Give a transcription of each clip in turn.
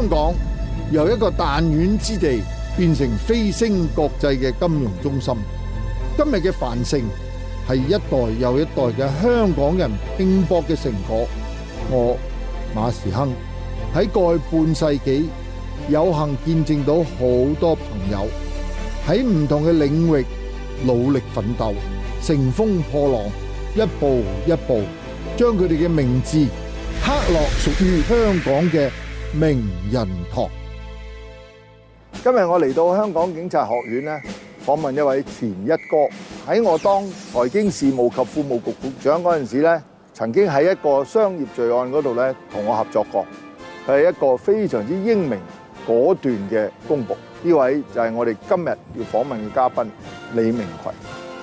香港由一個彈丸之地變成飛升國際嘅金融中心。今日嘅繁盛係一代又一代嘅香港人拼搏嘅成果。我馬時亨喺過去半世紀有幸見證到好多朋友喺唔同嘅領域努力奮鬥，乘風破浪，一步一步將佢哋嘅名字刻落屬於香港嘅名人堂。今日我嚟到香港警察學院咧，訪問一位前一哥。喺我當財經事務及庫務局局長嗰陣時咧，曾經喺一個商業罪案嗰度咧同我合作過。佢係一個非常之英明果斷嘅公僕。呢位就係我哋今日要訪問嘅嘉賓李明逵。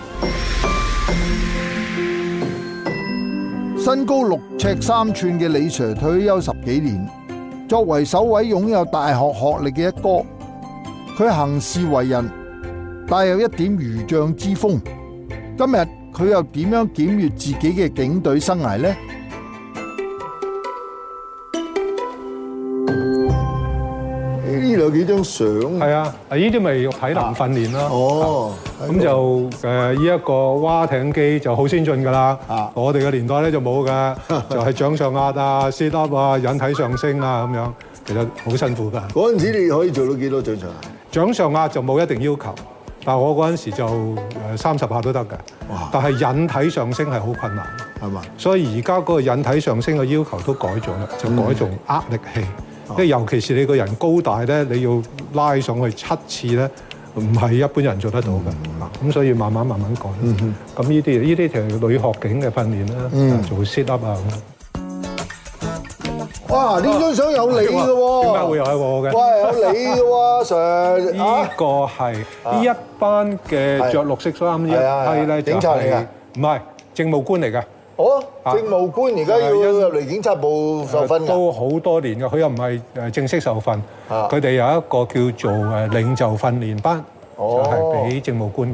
身高6尺3寸嘅李 Sir 退休10幾年，作為首位擁有大學學歷嘅一哥，佢行事為人帶有一點儒將之風。今日佢又點樣檢閱自己嘅警隊生涯呢？呢度有幾張相？ 係啊，呢啲咪體能訓練啦。 哦， 咁就呢一個蛙艇機就好先進㗎啦。我哋嘅年代咧就冇㗎，就係掌上壓啊、sit up 啊、引體上升啊咁樣，其實好辛苦㗎。 嗰陣時你可以做到幾多掌上壓？ 掌上壓就冇一定要求，但係我嗰陣時就30下都得㗎。但係引體上升係好困難， 係嘛？ 所以而家嗰個引體上升嘅要求都改咗啦，就改做握力器。因為尤其是你個人高大咧，你要拉上去7次咧，唔係一般人做得到嘅。咁所以慢慢改。咁呢啲就係女學警嘅訓練啦，做 sit up 啊咁。 哇！呢張相有你嘅喎， 點解會有我嘅？ 哇！有你嘅喎，Sir。 呢個係呢一班嘅着綠色衫呢一批咧， 警察嚟㗎？ 唔係政務官嚟㗎。 哦，政務官而家要入嚟警察部受訓㗎？ 都好多年㗎，佢又唔係正式受訓，佢哋有一個叫做領袖訓練班，就係俾政務官嘅。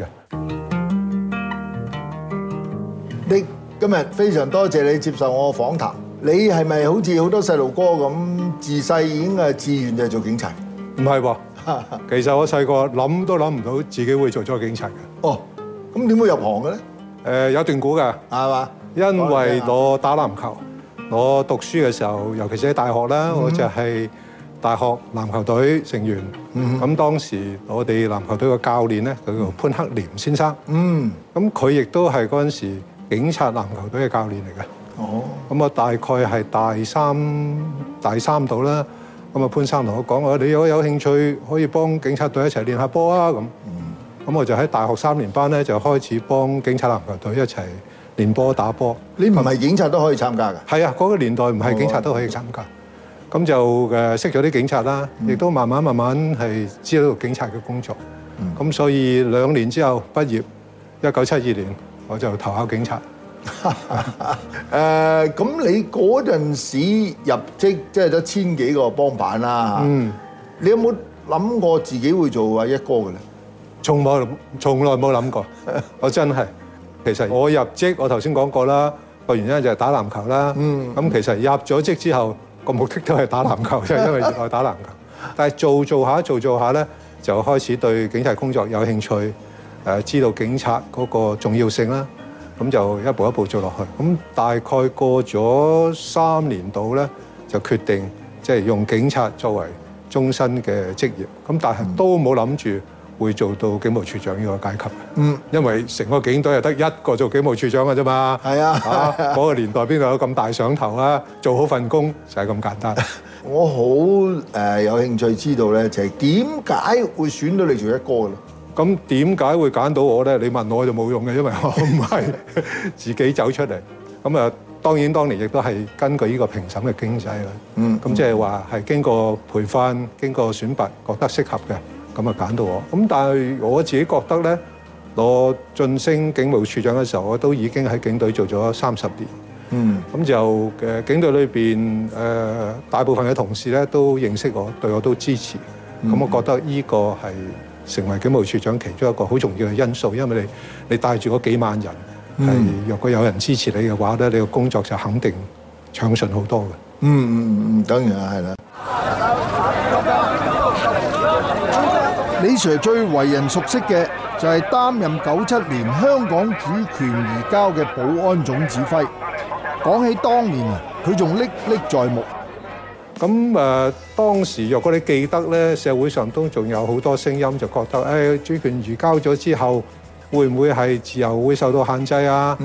你今日非常多謝你接受我嘅訪談。你係咪好似好多細路哥咁，自細已經係志願就係做警察？ 唔係喎，其實我細個諗都諗唔到自己會做咗警察嘅。 哦，咁點會入行嘅咧？ 有段估㗎， 係嘛？ 因為我打籃球，我讀書嘅時候，尤其是喺大學啦，我就係大學籃球隊成員。咁當時我哋籃球隊嘅教練咧，佢叫潘克廉先生。咁佢亦都係嗰陣時警察籃球隊嘅教練嚟嘅。咁我大概係大三度啦。咁啊潘生同我講話，你如果有興趣，可以幫警察隊一齊練下波啊咁。咁我就喺大學3年班咧，就開始幫警察籃球隊一齊練波打波。你唔係警察都可以參加㗎？係啊，嗰個年代唔係警察都可以參加。咁就識咗啲警察啦，亦都慢慢係知道警察嘅工作。咁所以2年之後畢業，1972年我就投考警察。 咁你嗰陣時入職即係得1000幾個幫辦啦。你有冇諗過自己會做阿一哥嘅咧？ 從來冇諗過，我真係。其實我入職，我頭先講過啦，個原因就係打籃球啦。咁其實入咗職之後，個目的都係打籃球，就係因為熱愛打籃球。但係做下咧，就開始對警察工作有興趣，知道警察嗰個重要性啦。咁就一步一步做落去。咁大概過咗3年度咧，就決定即係用警察作為終身嘅職業。咁但係都冇諗住會做到警務處長呢個階級。因為成個警隊係得一個做警務處長嘅啫嘛。係啊，嗰個年代邊度有咁大想頭啊？做好份工就係咁簡單。 我好有興趣知道咧，就係點解會選到你做一哥咧？ 咁點解會揀到我咧？你問我就冇用嘅，因為我唔係自己走出嚟。咁啊，當然當年亦都係根據呢個評審嘅經濟啦。咁即係話係經過培訓、經過選拔，覺得適合嘅，咁啊揀到我。咁但係我自己覺得咧，我晉升警務處長嘅時候，我都已經喺警隊做咗30年。咁就警隊裏邊大部分嘅同事咧都認識我，對我都支持。咁我覺得呢個係成為警務處長其中一個好重要嘅因素，因為你帶住嗰幾萬人，係若果有人支持你嘅話咧，你個工作就肯定暢順好多嘅。 當然係啦。 李 Sir 最為人熟悉嘅就係擔任97年香港主權移交嘅保安總指揮。講起當年啊，佢仲歷歷在目。 咁當時若果你記得咧，社會上都仲有好多聲音，就覺得主權移交咗之後，會唔會係自由會受到限制啊？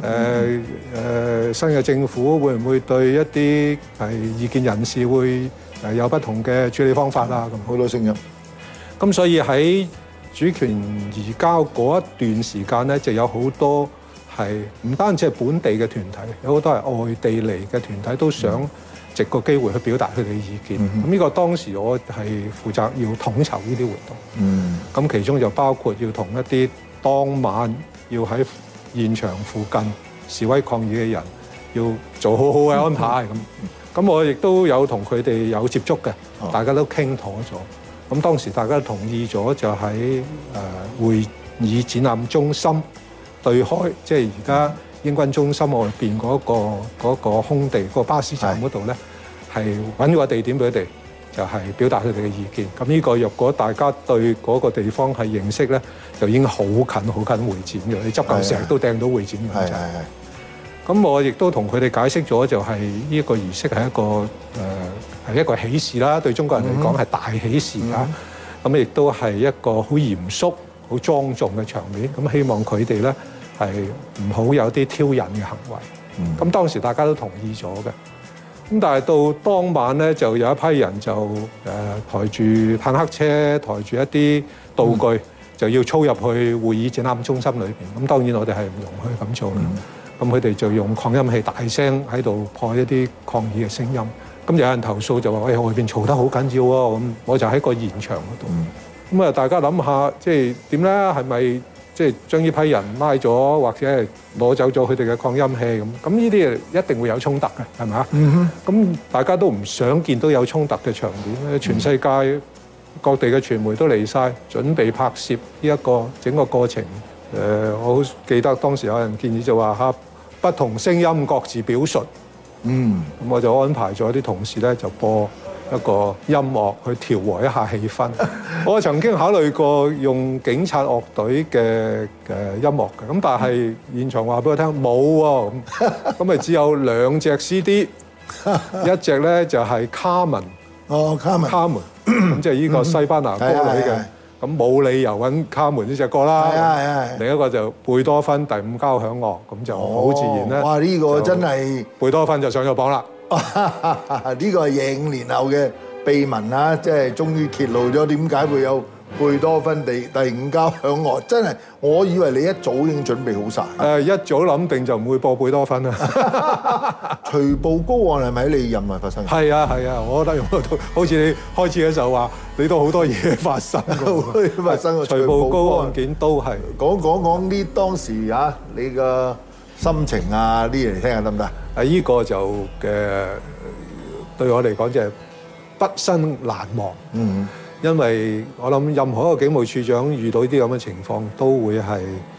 新嘅政府會唔會對一啲係異見人士會有不同嘅處理方法啊？咁好多聲音。 咁所以喺主權移交嗰一段時間咧，就有好多係唔單止係本地嘅團體，有好多係外地嚟嘅團體都想藉個機會去表達佢哋嘅意見。咁呢個當時我係負責要統籌呢啲活動。咁其中就包括要同一啲當晚要喺現場附近示威抗議嘅人，要做好好嘅安排。咁我亦都有同佢哋有接觸嘅，大家都傾妥咗。咁當時大家同意咗，就喺會議展覽中心對開，即係而家英軍中心外邊嗰個空地，嗰個巴士站嗰度咧，係揾個地點俾佢哋，就係表達佢哋嘅意見。咁呢個若果大家對嗰個地方係認識咧，就已經好近會展嘅。你執嚿石都掟到會展嘅。咁我亦都同佢哋解釋咗，就係呢個儀式係一個喜事啦，對中國人嚟講係大喜事啦。咁亦都係一個好嚴肅、好莊重嘅場面。咁希望佢哋咧係唔好有啲挑釁嘅行為。咁當時大家都同意咗嘅。咁但係到當晚咧，就有一批人就抬住坦克車，抬住一啲道具，就要操入去會議展覽中心裏邊。咁當然我哋係唔容許咁做啦。咁佢哋就用擴音器大聲喺度破一啲抗議嘅聲音。咁有人投訴就話：喂，外邊嘈得好緊要喎！咁我就喺個現場嗰度。咁啊，大家諗下，即係點咧？係咪即係將呢批人拉咗，或者係攞走咗佢哋嘅擴音器咁？咁呢啲一定會有衝突嘅，係咪啊？咁大家都唔想見到有衝突嘅場面。全世界各地嘅傳媒都嚟晒，準備拍攝呢一個整個過程。我好記得當時有人建議就話嚇，不同聲音各自表述。咁我就安排咗啲同事咧，就播一個音樂去調和一下氣氛。我曾經考慮過用警察樂隊嘅音樂嘅，咁但係現場話俾我聽冇喎，咁咪只有2隻 CD， 一隻咧就係卡門，卡門，咁即係呢個西班牙歌女嘅。咁冇理由揾卡門呢隻歌啦。另一個就貝多芬第5交響樂，咁就好自然咧。 哇！呢個真係貝多芬就上咗榜啦。 呢個係25年後嘅秘聞啦，即係終於揭露咗點解會有貝多芬第5交響樂。真係，我以為你一早已經準備好晒。 一早諗定就唔會播貝多芬啦。 徐步高案係咪喺你任內發生？ 係啊，我覺得好似你開始嘅時候話，你都好多嘢發生。 發生個徐步高案件都係講啲當時啊，你嘅心情啊啲嘢嚟聽下得唔得？ 呢個就對我嚟講就係畢生難忘。因為我諗任何一個警務處長遇到呢啲咁嘅情況，都會係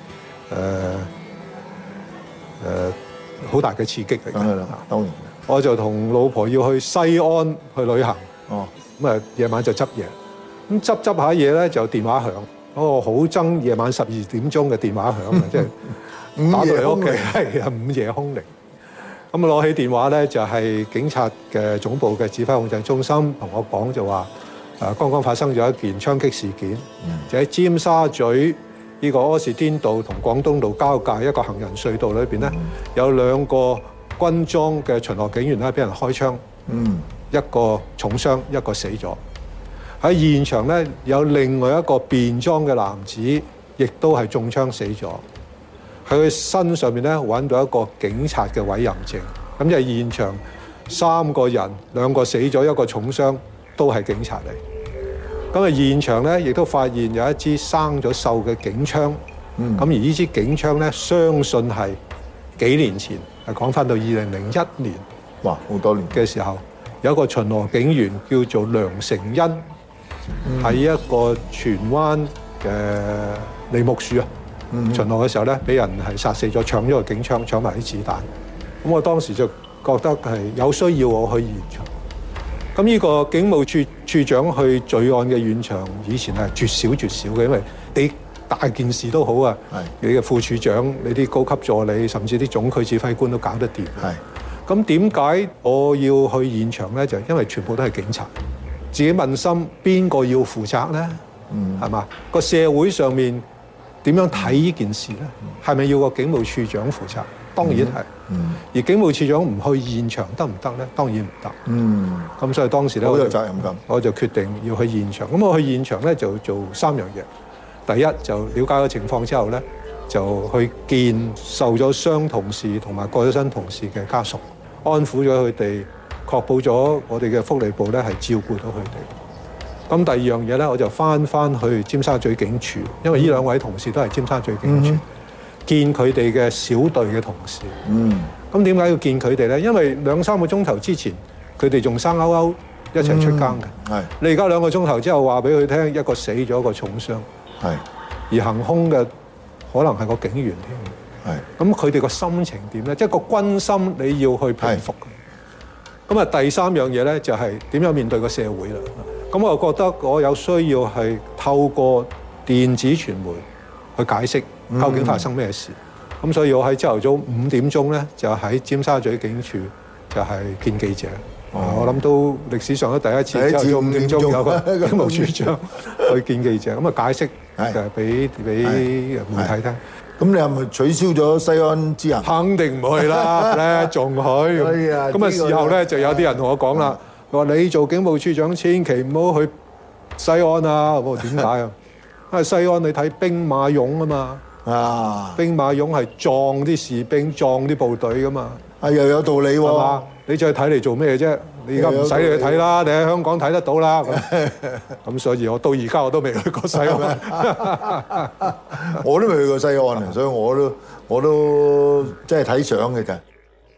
好大嘅刺激嚟嘅。 當然， 我就同老婆要去西安去旅行。咁啊夜晚就執嘢，咁執下嘢咧就電話響。我好憎夜晚12點鐘嘅電話響啊，即係打到嚟屋企係啊午夜兇鈴。咁攞起電話咧就係警察嘅總部嘅指揮控制中心同我講就話。剛剛發生咗一件槍擊事件，就喺尖沙咀呢個柯士甸道同廣東道交界一個行人隧道裏邊咧，有2個軍裝嘅巡邏警員咧，俾人開槍，一個重傷，一個死咗。喺現場咧，有另外一個便裝嘅男子，亦都係中槍死咗。喺佢身上面咧揾到一個警察嘅委任證，咁就係現場3個人，2個死咗，1個重傷。都係警察嚟，咁啊現場咧亦都發現有一支生咗鏽嘅警槍，咁而呢支警槍咧，相信係幾年前，係講翻到2001年， 哇好多年嘅時候，有一個巡邏警員叫做梁成恩，喺一個荃灣嘅梨木樹啊，巡邏嘅時候咧，俾人係殺死咗，搶咗個警槍，搶埋啲子彈。咁我當時就覺得係有需要我去現場。 咁呢個警務處處長去罪案嘅現場，以前係絕少嘅，因為你大件事都好啊，你嘅副處長、你啲高級助理，甚至啲總區指揮官都搞得掂。咁點解我要去現場咧？就因為全部都係警察，自己問心邊個要負責咧？係嘛？個社會上面點樣睇呢件事咧？係咪要個警務處長負責？當然係。而警務處長唔去現場得唔得咧？當然唔得。咁所以當時咧，好有責任感，我就決定要去現場。咁我去現場咧就做3樣嘢。第一就了解個情況之後咧，就去見受咗傷同事同埋過咗身同事嘅家屬，安撫咗佢哋，確保咗我哋嘅福利部咧係照顧到佢哋。咁第二樣嘢咧，我就翻去尖沙咀警署，因為呢2位同事都係尖沙咀警署，見佢哋嘅小隊嘅同事。咁點解要見佢哋咧？因為2-3個鐘頭之前，佢哋仲生勾勾一齊出更嘅。你而家2個鐘頭之後話俾佢聽，一個死咗，一個重傷。而行兇嘅可能係個警員添。咁佢哋個心情點咧？即係個軍心你要去平復。咁啊，第3樣嘢咧就係點樣面對個社會啦。咁我覺得我有需要係透過電子傳媒去解釋究竟發生咩事。咁所以我喺朝頭早5點鐘咧，就喺尖沙咀警署就係見記者。我諗都歷史上都第一次朝頭早5點鐘有個警務處長去見記者，咁啊解釋就係俾媒體聽。 咁你係咪取消咗西安之行？ 肯定唔去啦，咧仲去。咁啊事後咧就有啲人同我講啦，佢話你做警務處長千祈唔好去西安啊！我話點解啊？因為西安你睇兵馬俑啊嘛，兵馬俑係撞啲士兵、撞啲部隊噶嘛。又有道理喎，係嘛？你再睇嚟做咩啫？你而家唔使你去睇啦，你喺香港睇得到啦。咁所以我到而家我都未去過西安，我都未去過西安啊，所以我都即係睇相嘅啫。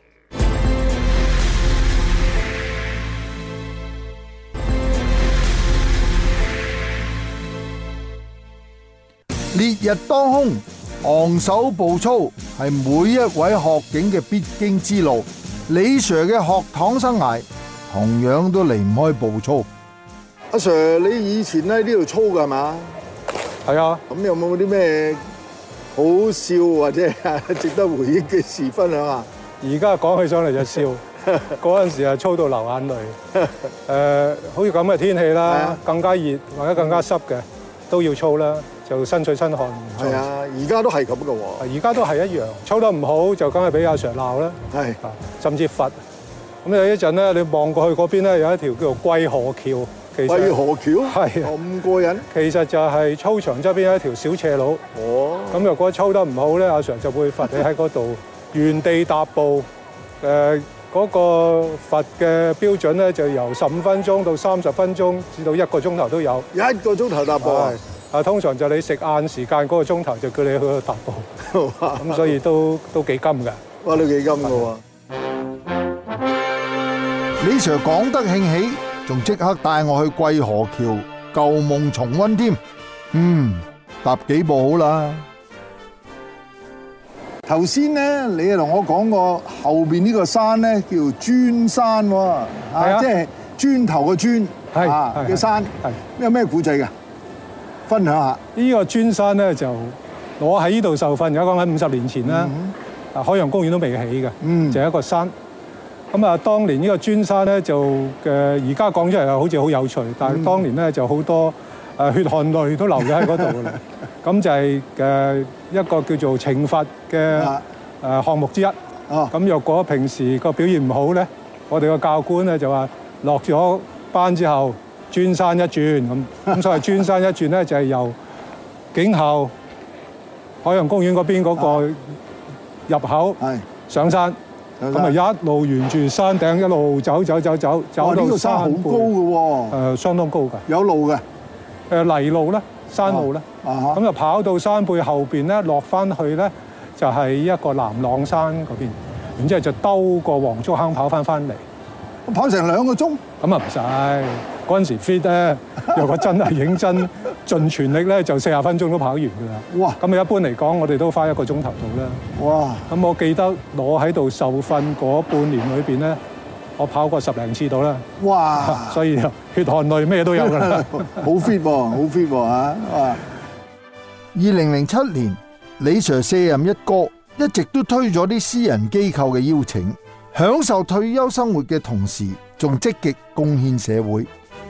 烈日當空，昂首步操係每一位學警嘅必經之路。李 Sir 嘅學堂生涯同樣都離唔開步操。阿 Sir， 你以前喺呢度操㗎係嘛？係啊。咁有冇啲咩好笑或者值得回憶嘅事分享啊？而家講起上嚟就笑，嗰陣時係操到流眼淚。好似咁嘅天氣啦，更加熱或者更加濕嘅都要操啦。就身水身汗。係啊，而家都係咁嘅喎。而家都係一樣，操得唔好就梗係俾阿 Sir 鬧啦。係，甚至罰。咁有一陣咧，你望過去嗰邊咧，有一條叫做桂河橋。桂河橋？係。咁過癮。其實就係操場側邊有一條小斜路。哦。咁若果操得唔好咧，阿 Sir 就會罰你喺嗰度原地踏步。嗰個罰嘅標準咧，就由15分鐘到30分鐘，至到1個鐘頭都有。1個鐘頭踏步啊！通常就你食晏時間嗰個鐘頭就叫你去度踏步，咁所以都幾金㗎。哇！都幾金㗎喎。李 Sir 講得興起，仲即刻帶我去桂河橋舊夢重溫添。踏幾步好啦。頭先咧，你同我講過後邊呢個山咧叫磚山喎，即係磚頭嘅磚嘅山。有咩古仔㗎？分享下呢個磚山咧，就我喺呢度受訓，而家講緊50年前啦。海洋公園都未起嘅，就係一個山。咁啊，當年呢個磚山咧就而家講出嚟好似好有趣，但係當年咧就好多血汗淚都流咗喺嗰度㗎啦。咁就係一個叫做懲罰嘅項目之一。咁若果平時個表現唔好咧，我哋個教官咧就話落咗班之後，磚山一轉咁所謂磚山一轉咧，就係由警校海洋公園嗰邊嗰個入口上山，咁啊一路沿住山頂一路走到山好高嘅喎，相當高㗎。有路嘅，泥路啦，山路啦，咁就跑到山背後邊咧，落翻去咧就係一個南朗山嗰邊，然之後就兜過黃竹坑跑翻嚟。跑成2個鐘？咁啊唔使，嗰陣時 fit 咧，若果真係認真盡全力咧，就40分鐘都跑完㗎啦。哇！咁啊一般嚟講，我哋都花1個鐘頭到啦。哇！咁我記得我喺度受訓嗰半年裏邊咧， 我跑過10零次到啦。 哇！ 所以血汗淚咩都有㗎啦。 好 fit 喎，好 fit 喎嚇！哇！2007年，李 Sir 卸任一哥，一直都推咗啲私人機構嘅邀請，享受退休生活嘅同時，仲積極貢獻社會。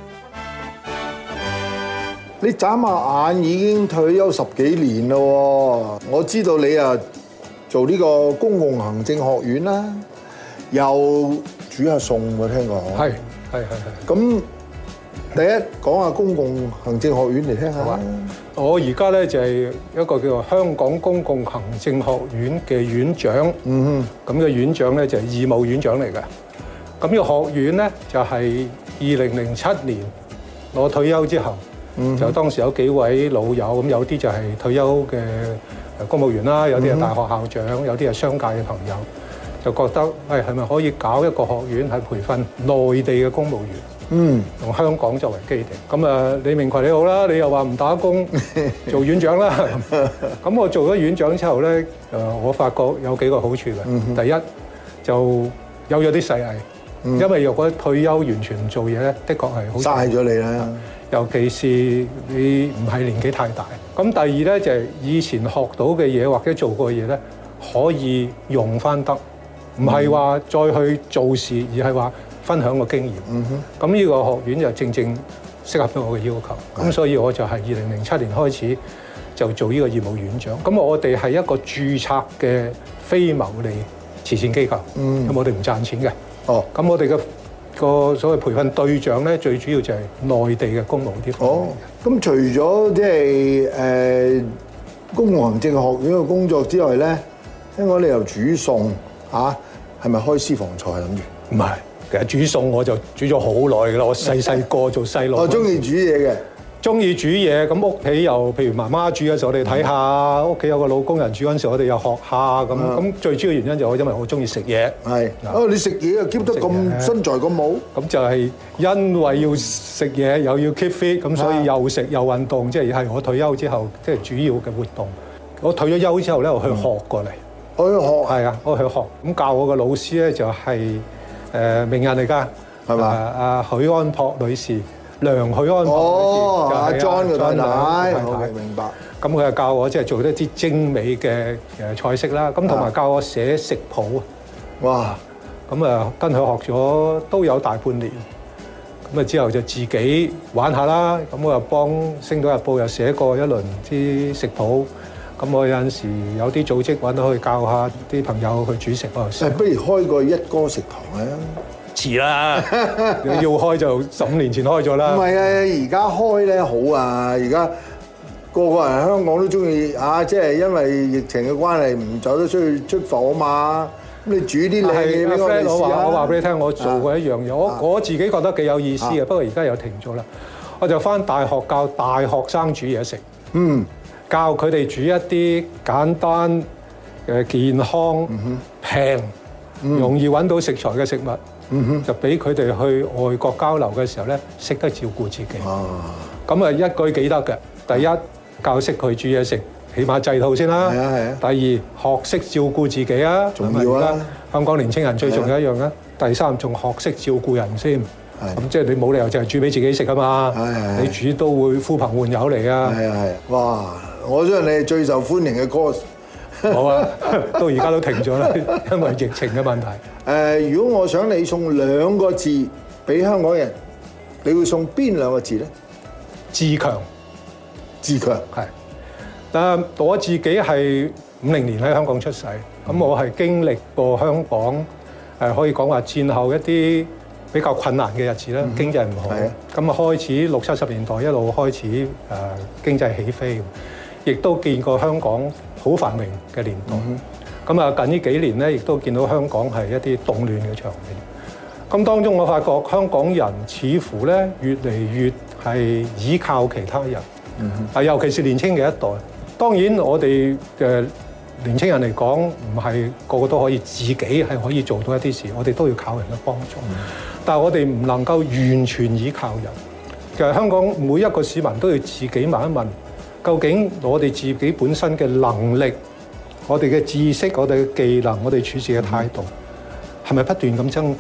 你眨下眼已經退休10幾年咯，我知道你啊做呢個公共行政學院啦，又煮下餸喎，聽講。 係。 咁第一講下公共行政學院嚟聽下。 我而家咧就係一個叫做香港公共行政學院嘅院長。咁嘅院長咧就係義務院長嚟嘅。咁呢個學院咧就係2007年我退休之後。就當時有幾位老友，咁有啲就係退休嘅公務員啦，有啲係大學校長，有啲係商界嘅朋友，就覺得係咪可以搞一個學院係培訓內地嘅公務員，用香港作為基地。咁李明逵你好啦，你又話唔打工做院長啦。咁我做咗院長之後咧，我發覺有幾個好處嘅。第一就有咗啲細藝，因為如果退休完全唔做嘢咧，的確係好嘥咗你啦。尤其是你唔係年紀太大。咁第二咧就係以前學到嘅嘢或者做過嘅嘢咧，可以用翻得，唔係話再去做事，而係話分享個經驗。咁呢個學院就正正適合到我嘅要求。咁所以我就係2007年開始就做呢個義務院長。咁我哋係一個註冊嘅非牟利慈善機構，咁我哋唔賺錢嘅。咁我哋嘅個所謂培訓對象咧，最主要就係內地嘅公務啲方面。咁除咗即係公共行政學院嘅工作之外咧，聽講你又煮餸嚇，係咪開私房菜諗住？唔係，其實煮餸我就煮咗好耐㗎啦。我細個做細路，我中意煮嘢嘅。中意煮嘢，咁屋企又譬如媽媽煮嘅時候，我哋睇下；屋企有個老工人煮嗰陣時，我哋又學下咁。咁最主要原因就係因為我中意食嘢。係。你食嘢又 keep 得咁身材咁好？咁就係因為要食嘢，又要 keep fit，咁所以又食又運動，即係我退休之後即係主要嘅活動。我退咗休之後咧，我去學過嚟。我去學。係啊，我去學。咁教我嘅老師咧就係名人嚟㗎，係嘛？阿許安樸女士。梁許安樸阿 John 嘅太太，明白。咁佢就教我即係做一啲精美嘅菜式啦，咁同埋教我寫食譜。哇！咁跟佢學咗都有大半年，咁之後就自己玩下啦。咁我又幫《星島日報》又寫過一輪啲食譜。咁我有陣時有啲組織揾到去教下啲朋友去煮食嗰陣時。不如開個一哥食堂咧？遲啦，要開就15年前開咗啦。唔係啊，而家開咧好啊！而家個個人香港都中意啊，即係因為疫情嘅關係唔走得出埠啊嘛。咁你煮啲靚嘢俾我哋試下。我話俾你聽，我做過一樣嘢，我自己覺得幾有意思嘅，不過而家又停咗啦。我就返大學教大學生煮嘢食，教佢哋煮一啲簡單、健康、平、容易揾到食材嘅食物。就俾佢哋去外國交流嘅時候咧，識得照顧自己。咁一舉幾得嘅。第一，教識佢煮嘢食，起碼製套先啦。係啊。第二，學識照顧自己啊，重要啦。香港年青人最重要一樣啦。第三，仲學識照顧人先。咁即係你冇理由淨係煮俾自己食啊嘛。你煮都會呼朋喚友嚟啊。係。哇！我相信你係最受歡迎嘅 course。好啊，到而家都停咗啦，因為疫情嘅問題。如果我想你送2個字俾香港人，你會送邊2個字咧？自強。自強係。但我自己係50年喺香港出世，咁我係經歷過香港可以講話戰後一啲比較困難嘅日子啦，經濟唔好。咁開始60、70年代一路開始經濟起飛，亦都見過香港好繁榮嘅年代，咁近呢幾年咧，亦都見到香港係一啲動亂嘅場面。咁當中我發覺香港人似乎咧越嚟越係依靠其他人，尤其是年輕嘅一代。當然我哋嘅年輕人嚟講，唔係個個都可以自己係可以做到一啲事，我哋都要靠人嘅幫助。但係我哋唔能夠完全依靠人。其實香港每一個市民都要自己問一問。究竟我哋自己本身嘅能力、我哋嘅知識、我哋嘅技能、我哋處事嘅態度，係咪不斷咁增強？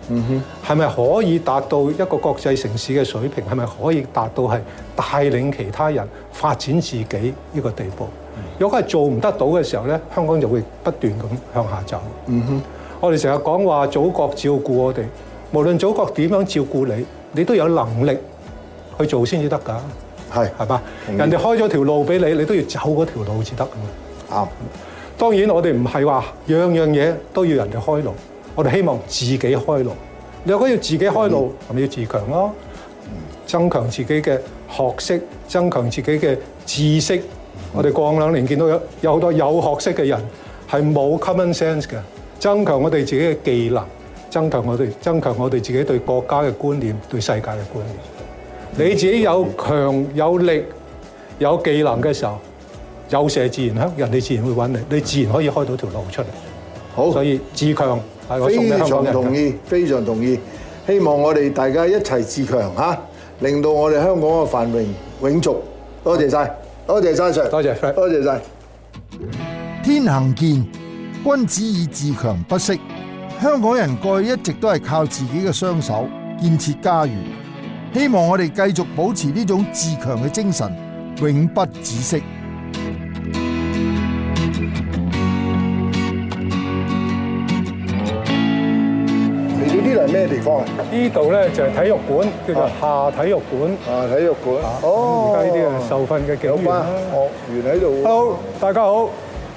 係咪可以達到一個國際城市嘅水平？係咪可以達到係帶領其他人發展自己呢個地步？如果係做唔得到嘅時候咧，香港就會不斷咁向下走。我哋成日講話祖國照顧我哋，無論祖國點樣照顧你，你都有能力去做先至得㗎。係嘛？人哋開咗條路俾你，你都要走嗰條路至得㗎嘛。當然我哋唔係話樣樣嘢都要人哋開路，我哋希望自己開路。你如果要自己開路，係咪要自強咯？增強自己嘅學識，增強自己嘅知識。我哋過往2年見到有好多有學識嘅人係冇 common sense 嘅，增強我哋自己嘅技能，增強我哋自己對國家嘅觀念，對世界嘅觀念。你自己有強有力有技能嘅時候，有麝自然人哋自然會揾你，你自然可以開到條路出嚟。好，所以自強係我送俾香港人嘅。非常同意，非常同意。希望我哋大家一齊自強嚇，令到我哋香港嘅繁榮永續。多謝晒，多謝晒 Sir， 多謝，多謝晒。 天行健，君子以自強不息。香港人過去一直都係靠自己嘅雙手建設家園，希望我哋繼續保持呢種自強嘅精神，永不止息。嚟到呢度係咩地方啊？ 呢度咧就係體育館，叫做夏體育館。 體育館。 而家呢啲係受訓嘅警員啦。 學員喺度。 Hello， 大家好。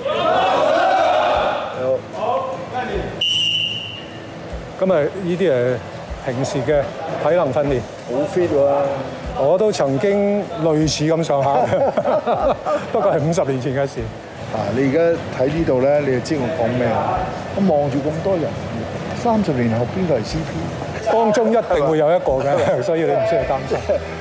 咁啊，呢啲係平時嘅體能訓練。 好 fit 喎！ 我都曾經類似咁上下，不過係50年前嘅事。 你而家睇呢度咧，你就知我講咩啦。我望住咁多人，30年後邊個係 CP？ 當中一定會有一個嘅，所以你唔需要擔心。